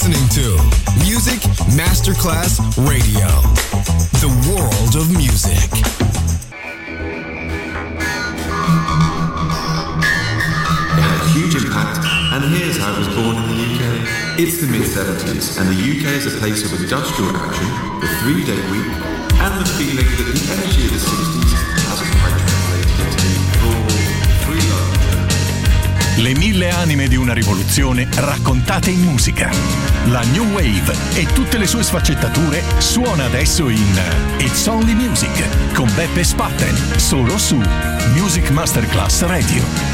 listening to Music Masterclass Radio, the world of music. It had a huge impact, and here's how it was born in the UK. It's the mid-70s, and the UK is a place of industrial action, the 3-day week, and the feeling that the energy of the 60s hasn't quite translated into raw, free love. Le 1000 anime di una rivoluzione raccontate in musica. La New Wave e tutte le sue sfaccettature suona adesso in It's Only Music con Beppe Spatten, solo su Music Masterclass Radio.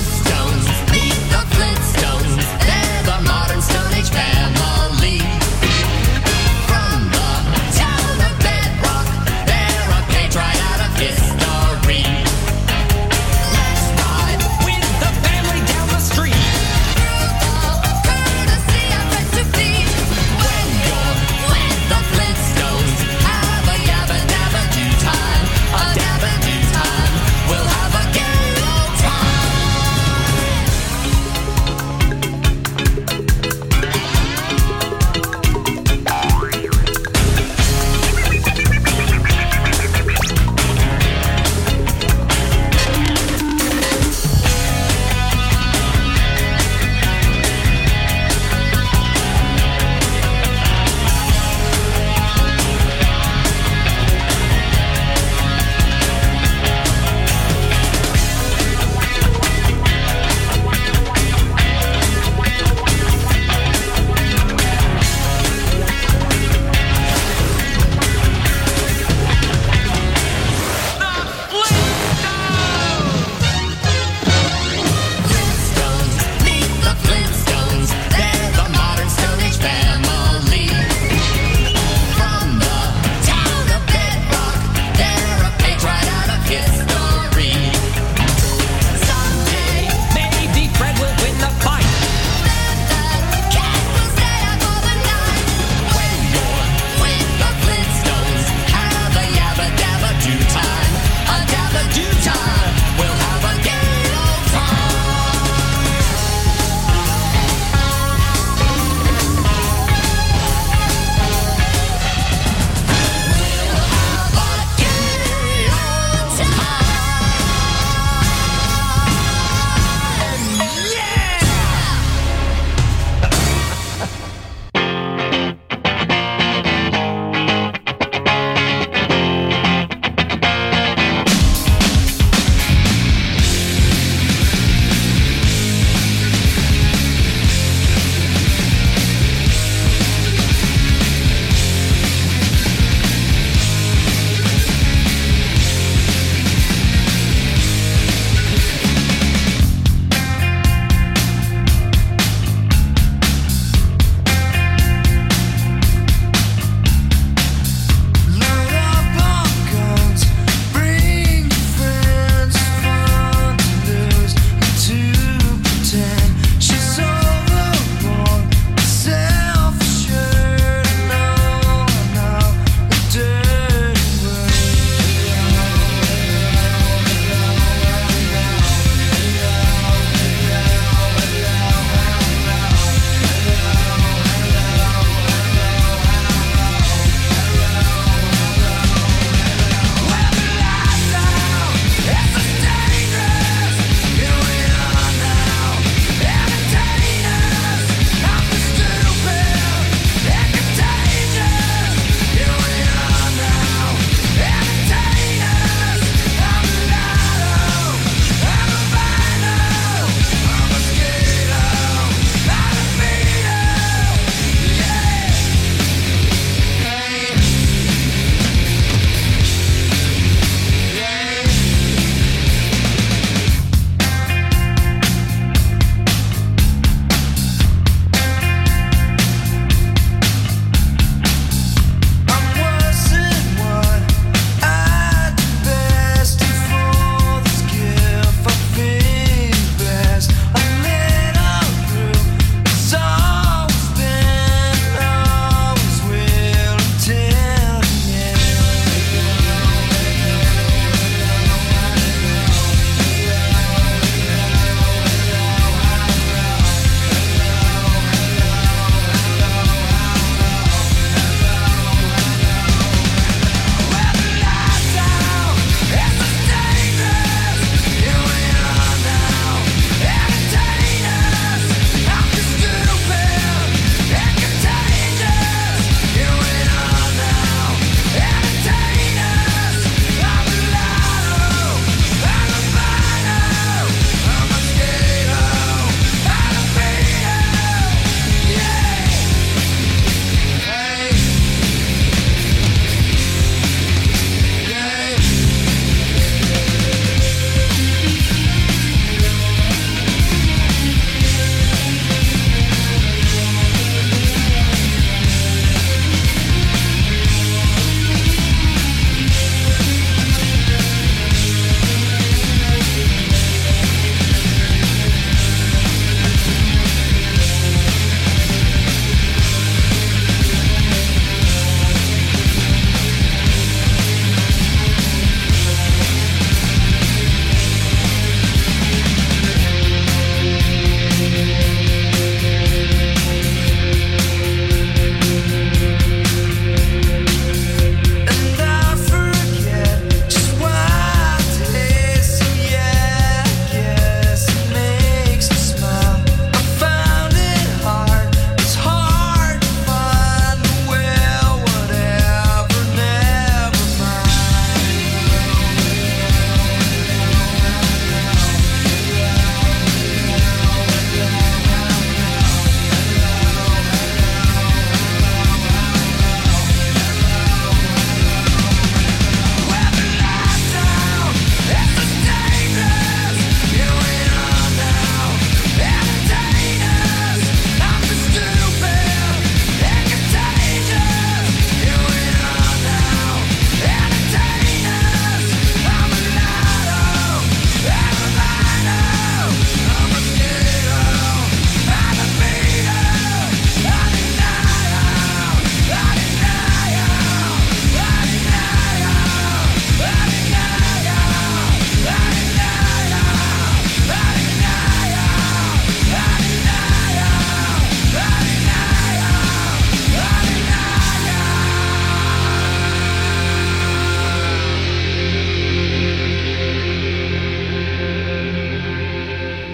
Flintstones, they're the modern Stone Age family.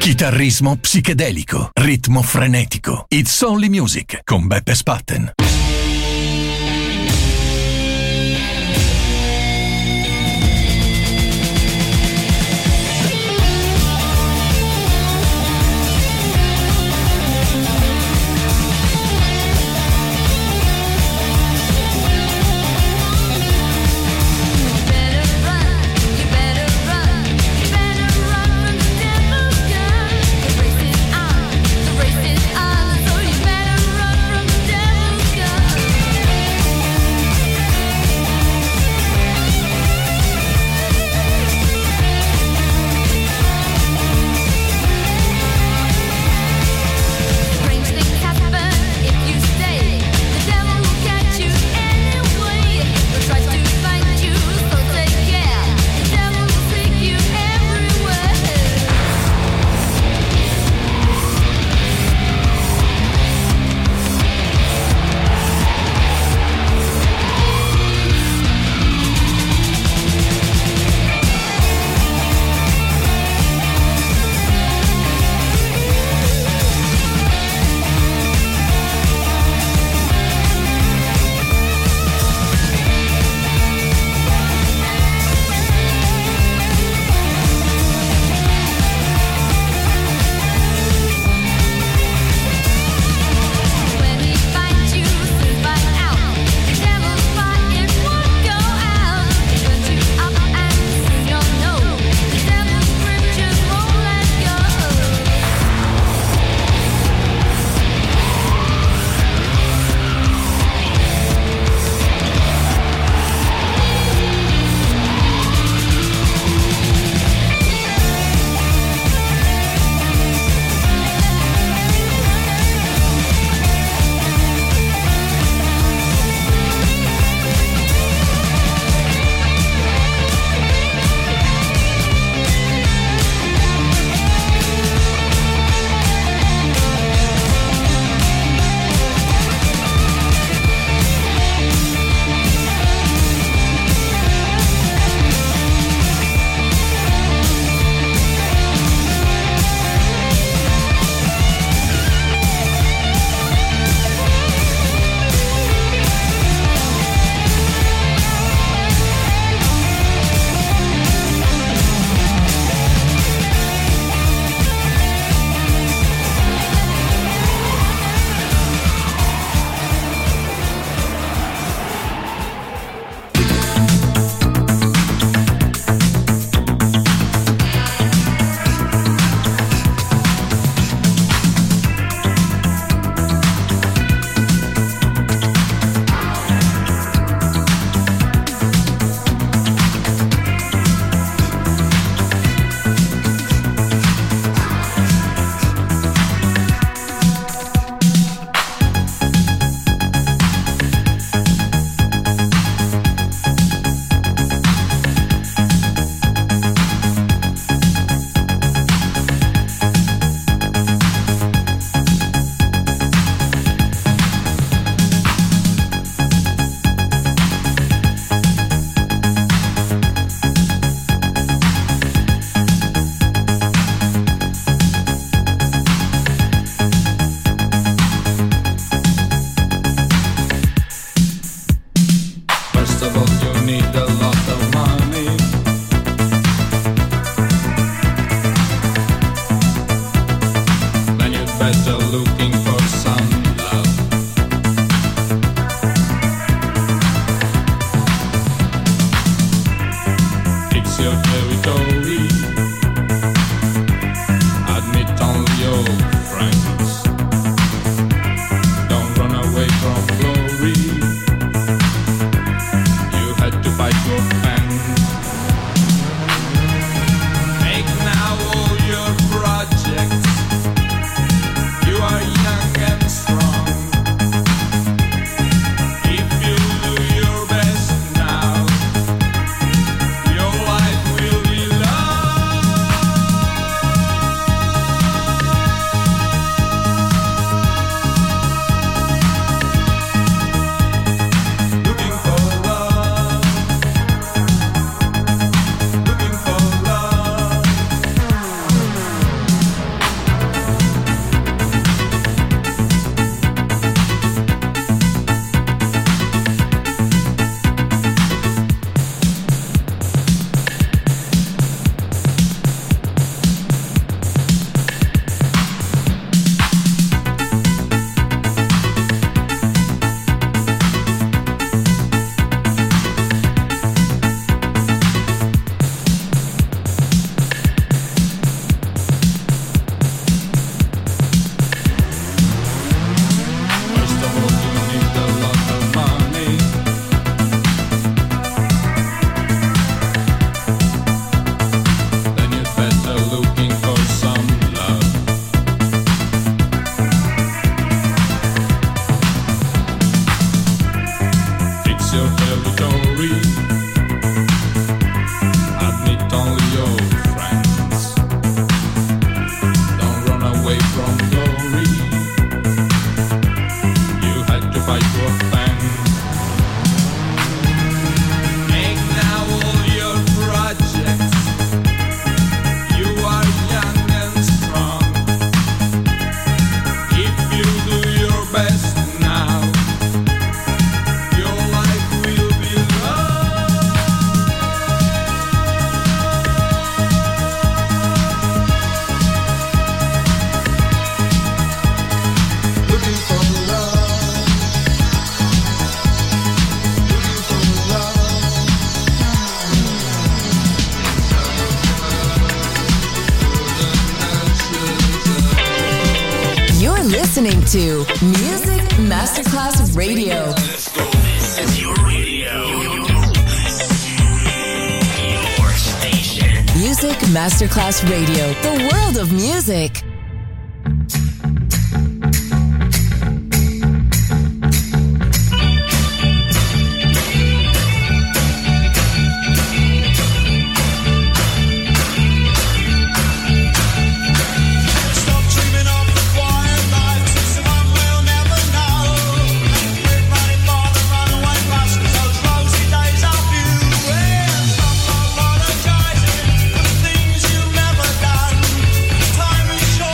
Chitarrismo psichedelico, ritmo frenetico. It's Only Music con Beppe Spatten. listening to Music Masterclass Radio. Let's go. This is your radio. Your station. Music Masterclass Radio. The world of music. Time is short.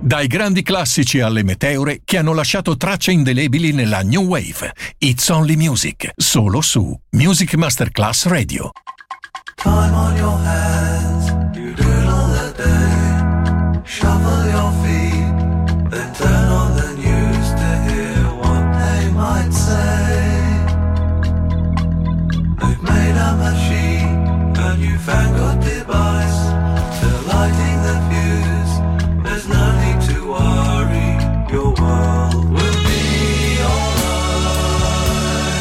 Dai grandi classici alle meteore che hanno lasciato tracce indelebili nella New Wave. It's Only Music, solo su Music Masterclass Radio. Time on your hands, you doodle the day, shuffle your feet, then turn on the news to hear what they might say. They've made a machine, a newfangled device, they're lighting the fuse, there's no need to worry, your world will be alright.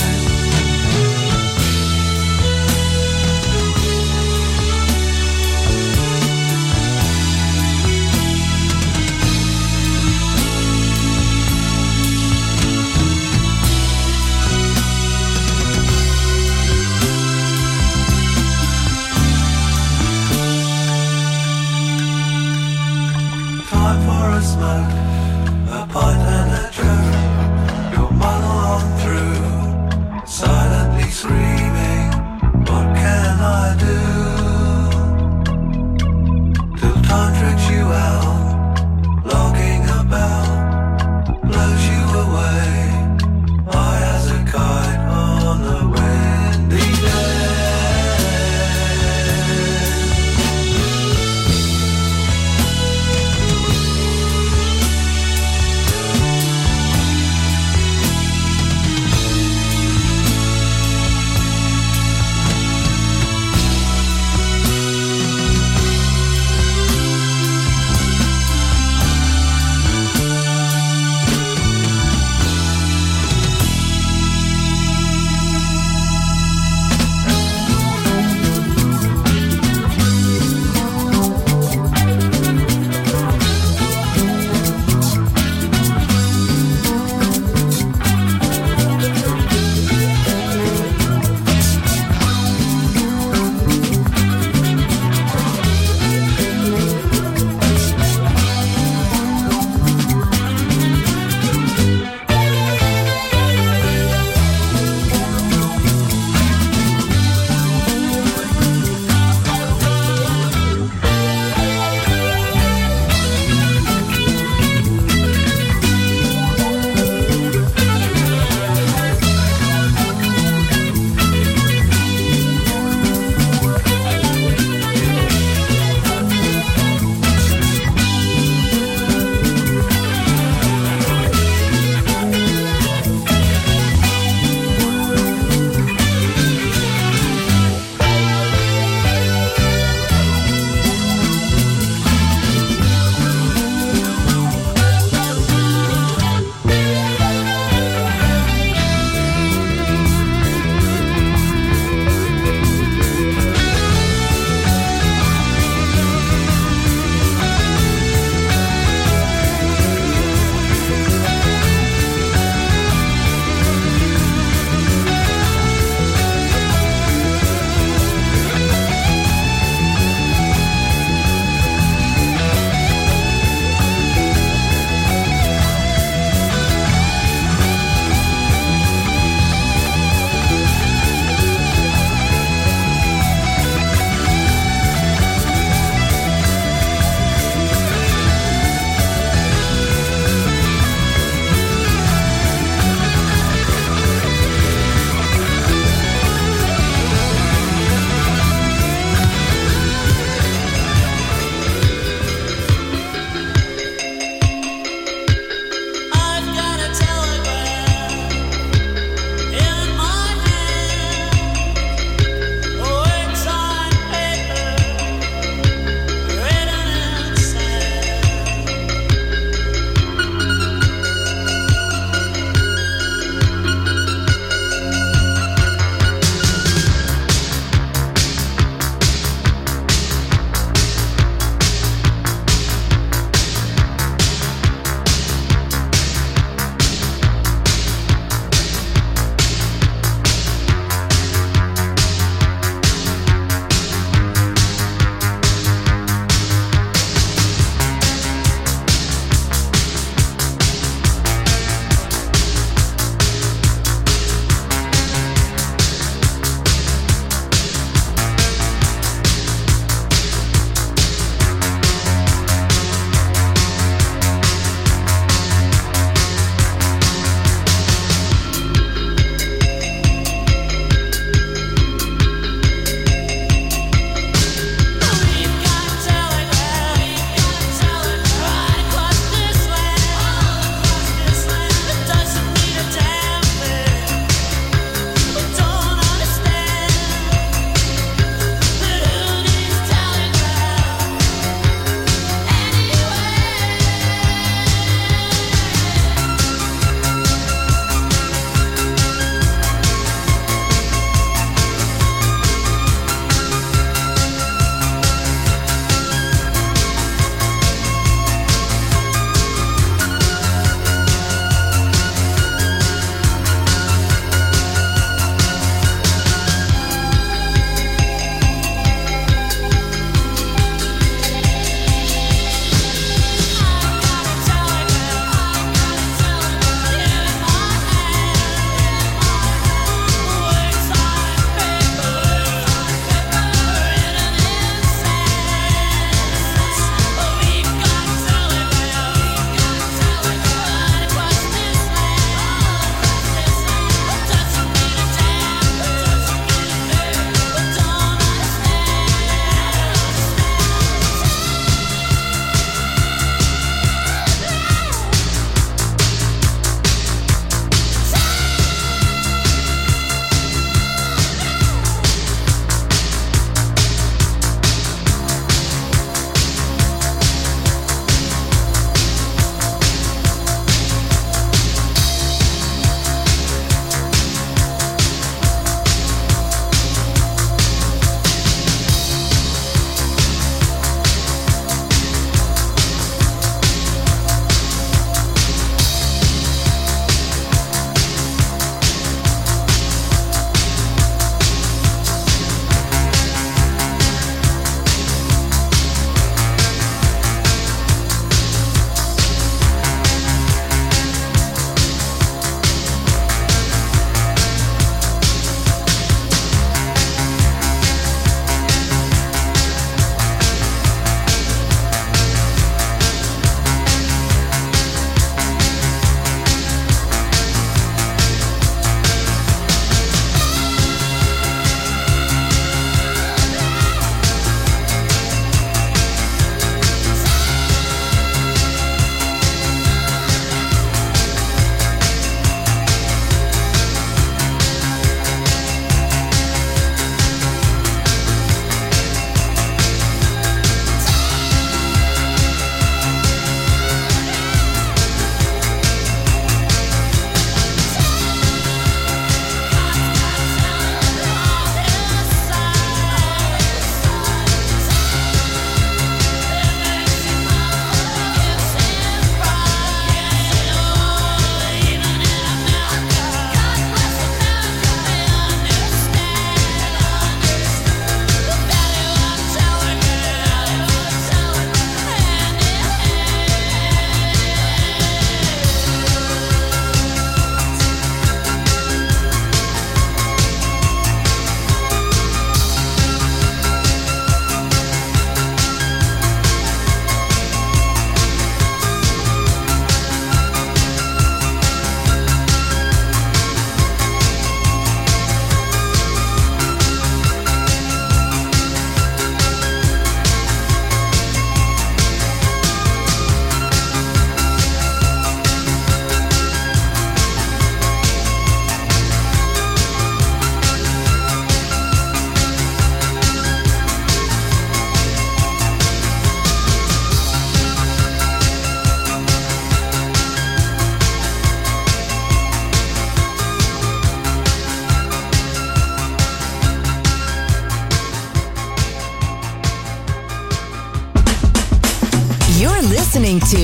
Time for a smoke, a pint and a joke. You'll muddle on through, silently screaming, what can I do? Till time tricks you out, logging about, blows you away, high as a kite on a windy day.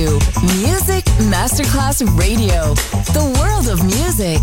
to Music Masterclass Radio, the world of music.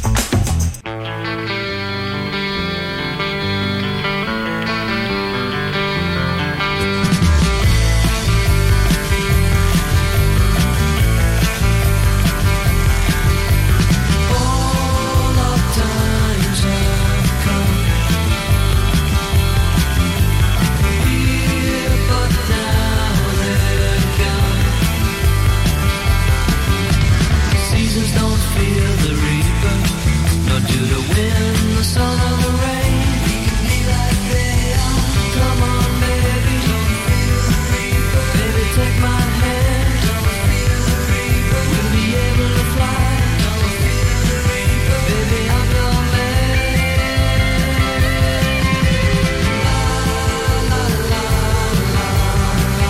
Don't feel the reaper, nor do the wind, the sun or the rain. Be like they are. Come on, baby, don't feel the reaper. Baby, take my hand. Don't feel the reaper. We'll be able to fly. Don't feel the reaper. Baby, I'm your man. La la la la la.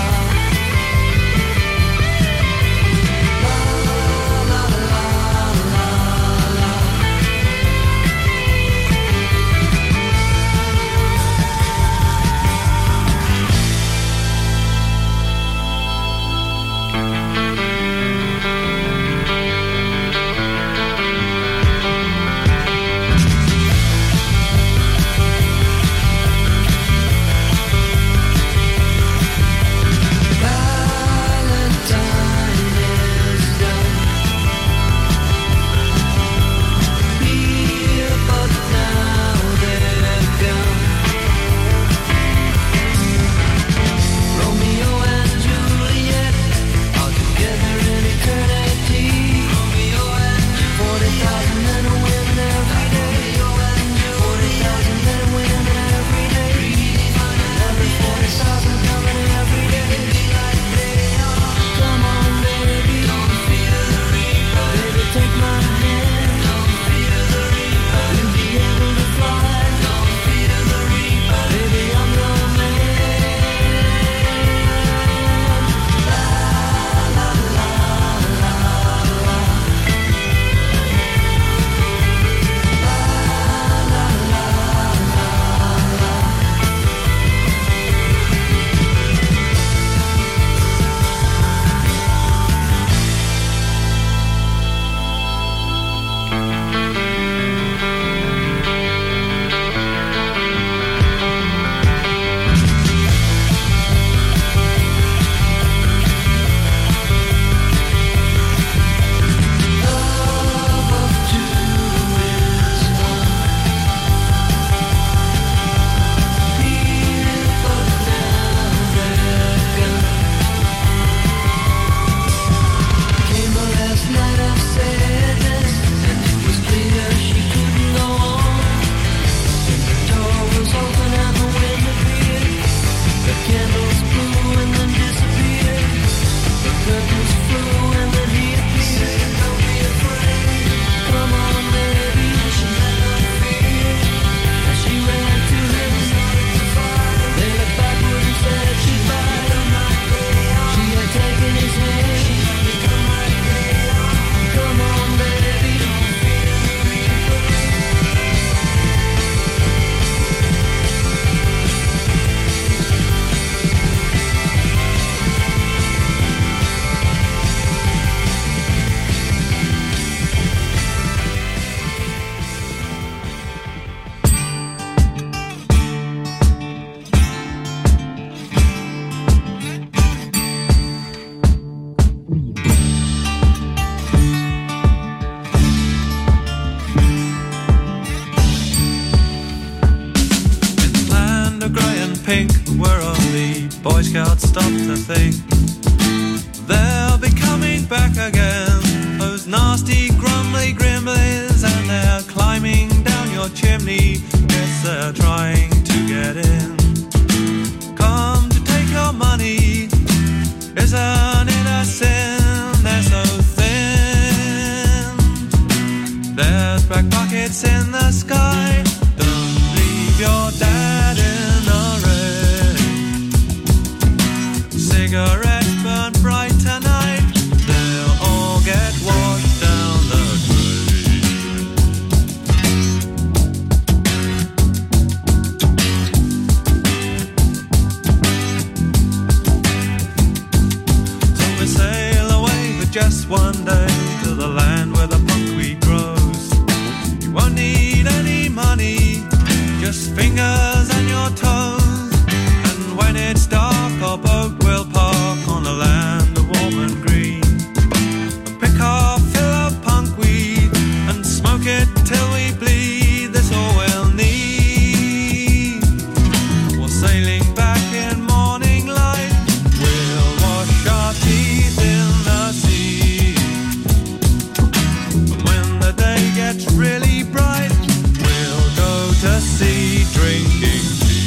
Pink, where only Boy Scouts stop to think they'll be coming back again. Those nasty, grumbly gremlins, and they're climbing down your chimney. Yes, they're trying to get in. Come to take your money. Isn't it a sin? They're so thin. There's black buckets in the sky. Don't leave your dad in the rain. Cigarettes burn bright tonight. They'll all get washed down the drain. So we sail just one day to the land where the buckwheat grows. You won't need any money, just fingers and your toes. And when it's dark, our boat will park on the land of warm and green. And pick our fill of punkweed and smoke it till we bleed. That's all we'll need. We're sailing back in morning light. We'll wash our teeth in the sea. And when the day gets really bright, we'll go to sea drinking tea.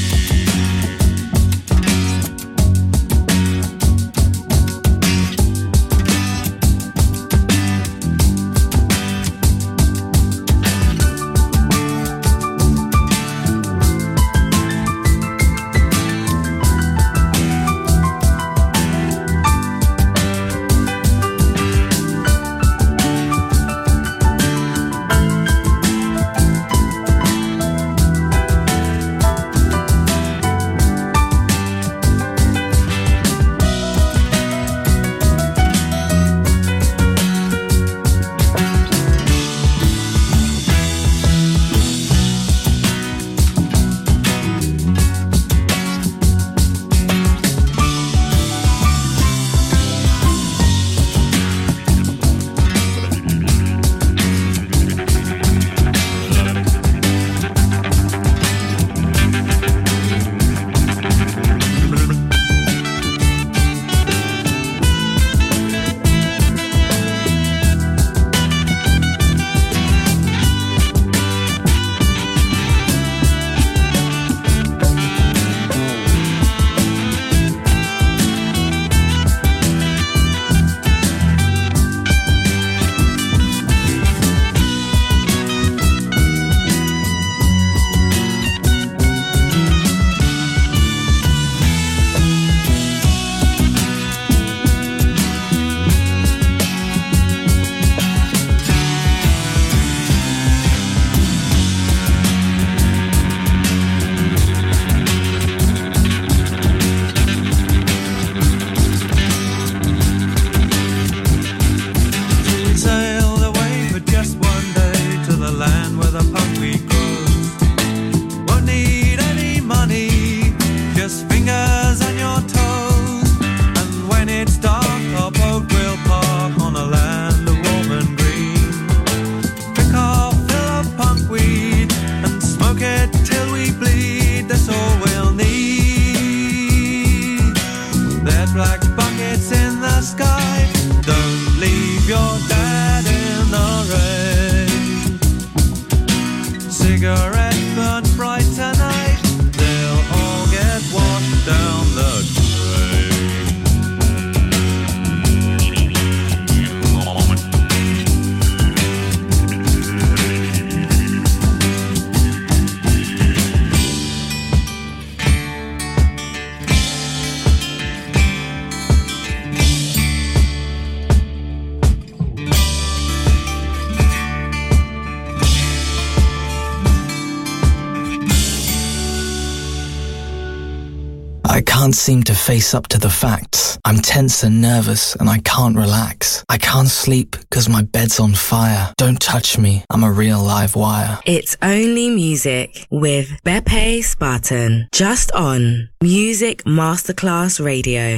I can't seem to face up to the facts. I'm tense and nervous and I can't relax. I can't sleep because my bed's on fire. Don't touch me, I'm a real live wire. It's Only Music with Beppe Spartan. Just on Music Masterclass Radio.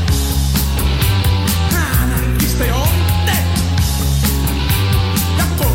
Sono in te. La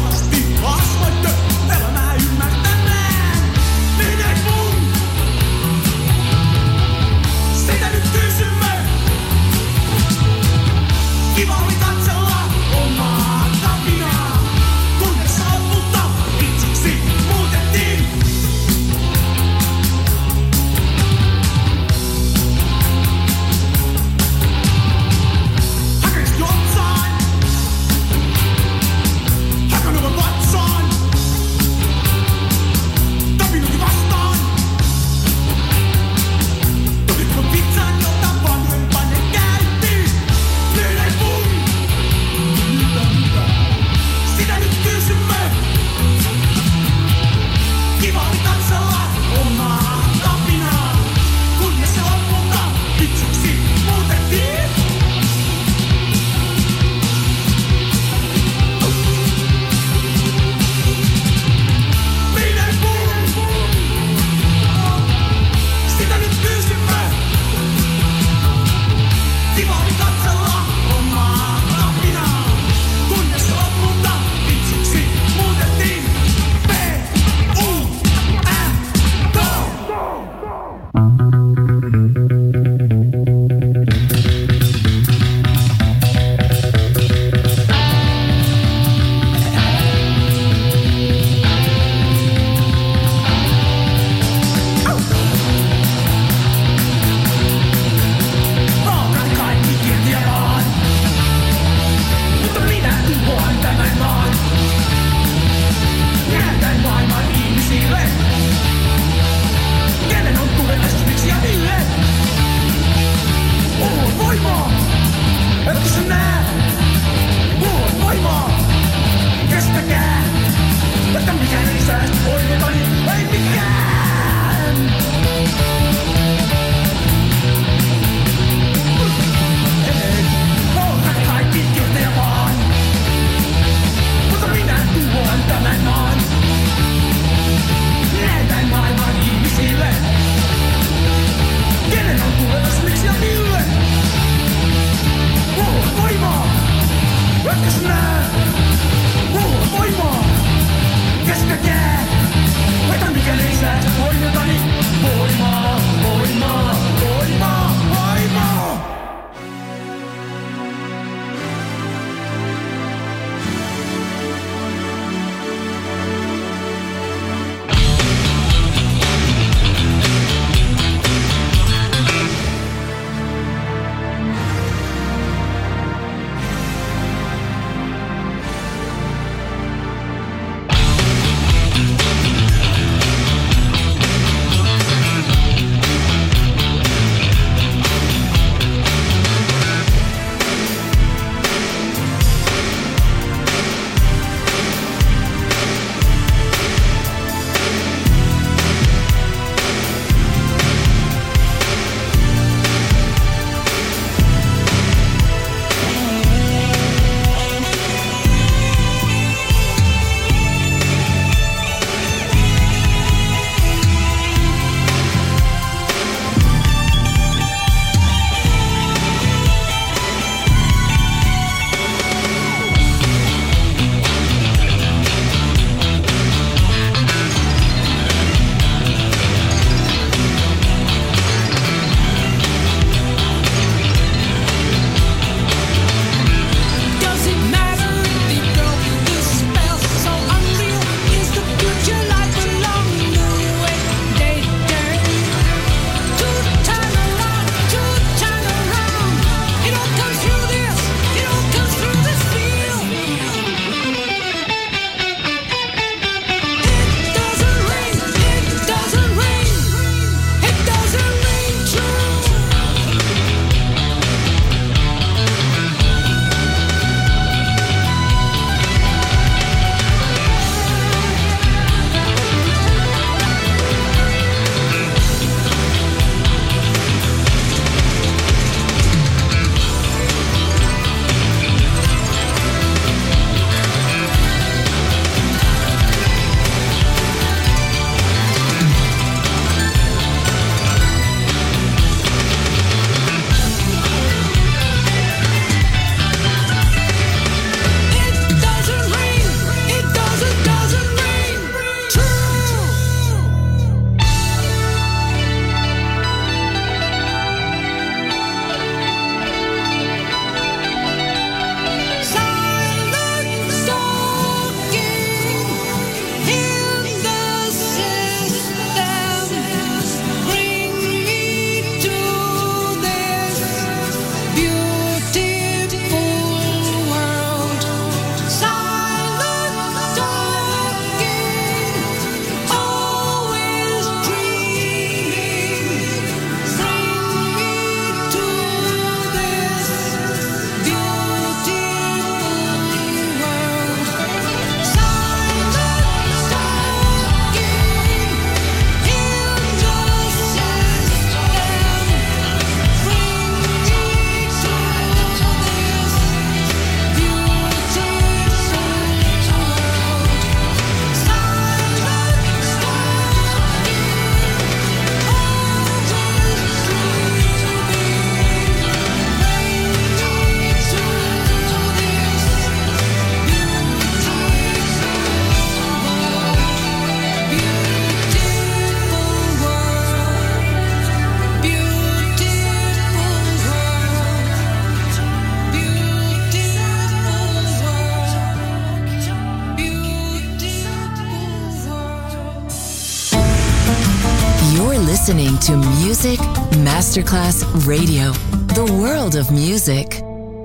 You're listening to Music Masterclass Radio, the world of music.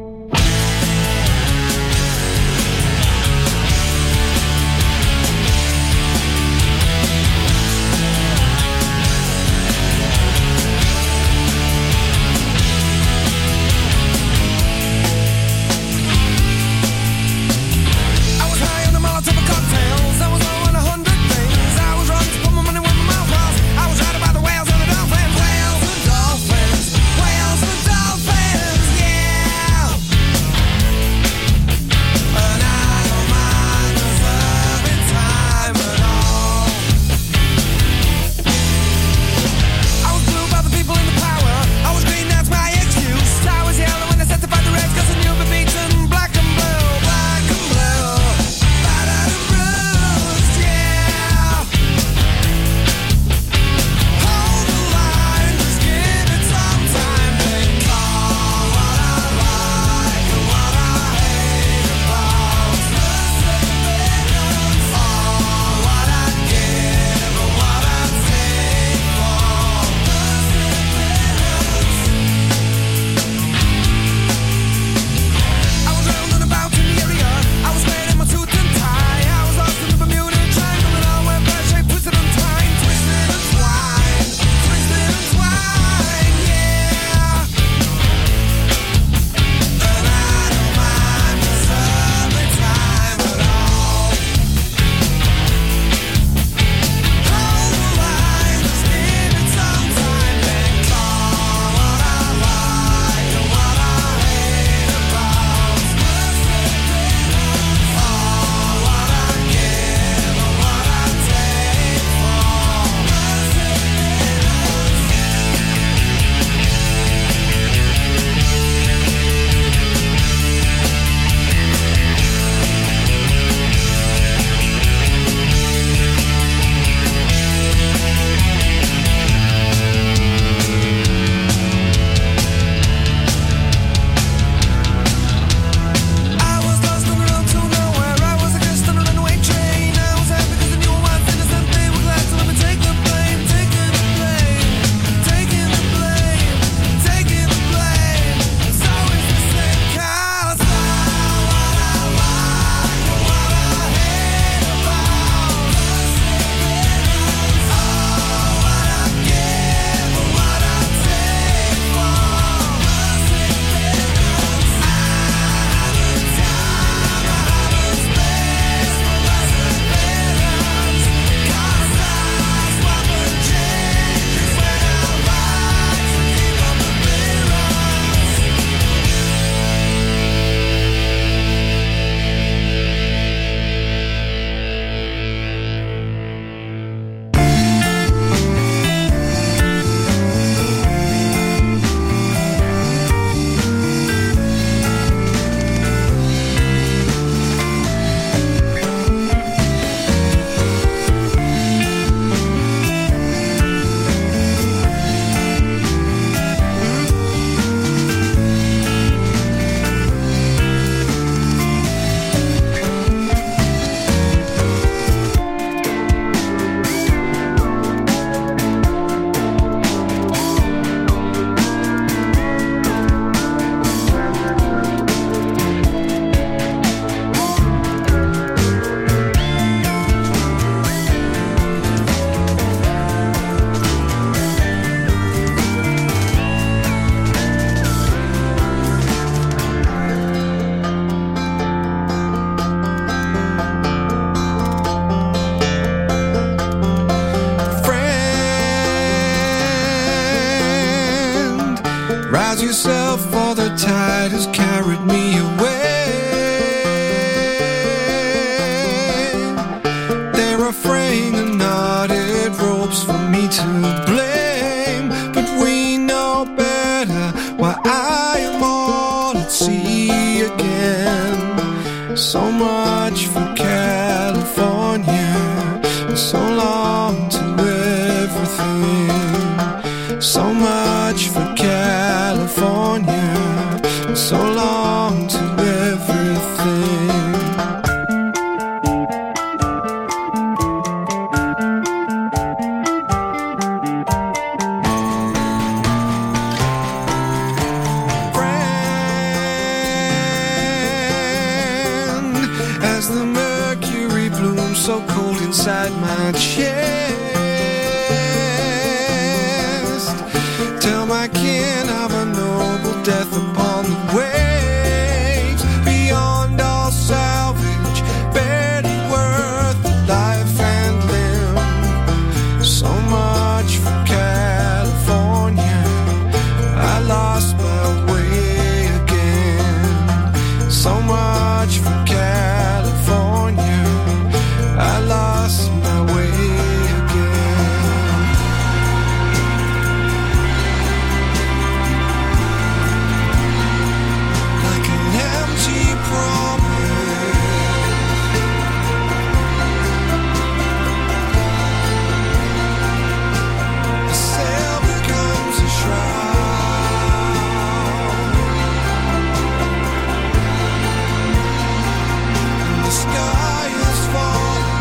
Rise yourself, for the tide has carried me away. There are fraying and knotted ropes for me to blame, but we know better why I am all at sea again. So much for California, so long to everything. So much for California, so long to everything. inside my chest. Tell my kin of a noble death upon the waves, beyond all salvage, barely worth the life and limb. So much for California, I lost my way again. So much for California, I lost my way again. Like an empty promise, a sail becomes a shroud, and the sky is falling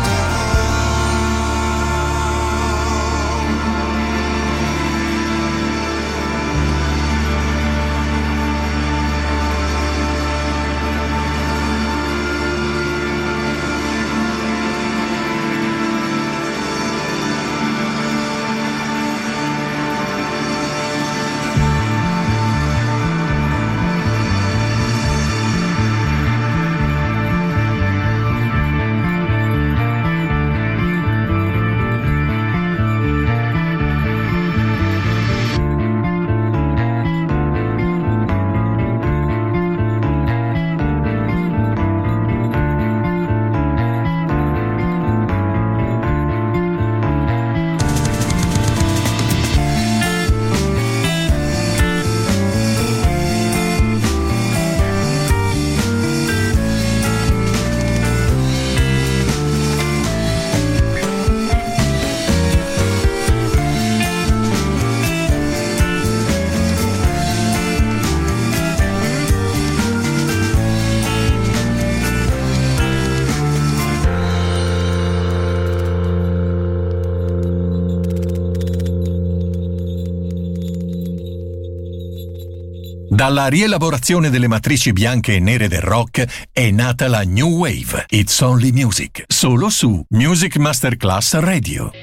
Dalla rielaborazione delle matrici bianche e nere del rock è nata la New Wave. It's Only Music, solo su Music Masterclass Radio.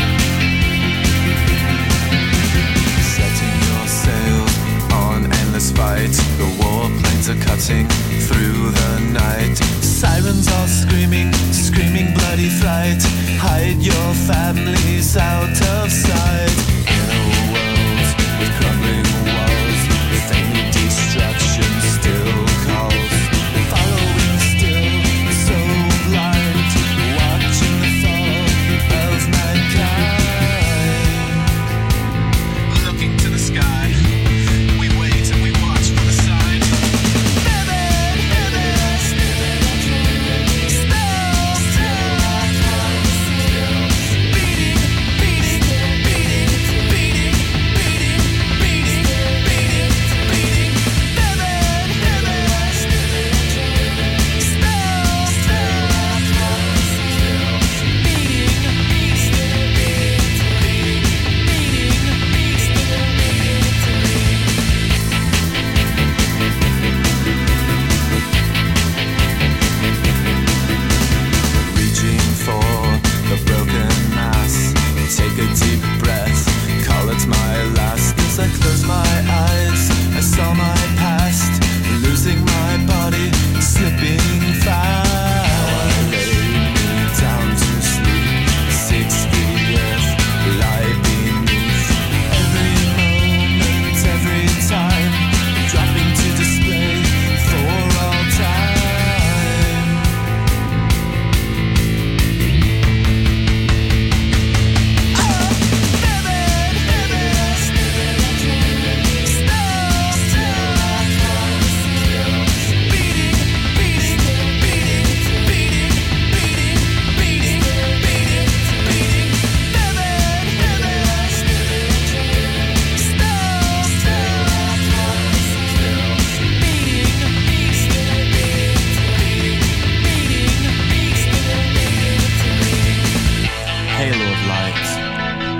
Setting your sails on endless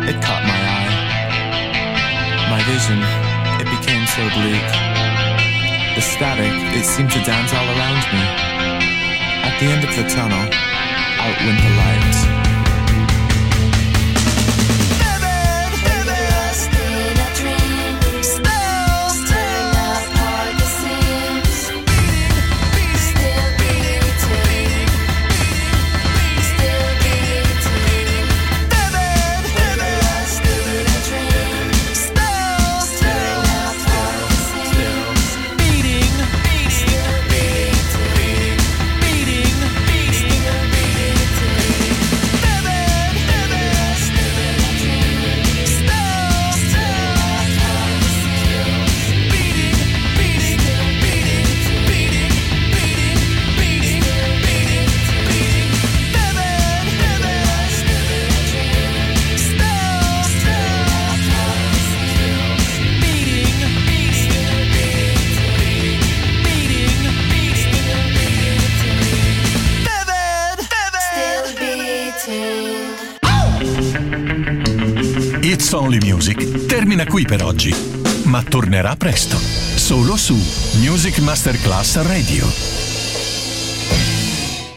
it caught my eye. My vision, it became so bleak. The static, it seemed to dance all around me. At the end of the tunnel, out went the lights. It's Only Music termina qui per oggi, ma tornerà presto, solo su Music Masterclass Radio.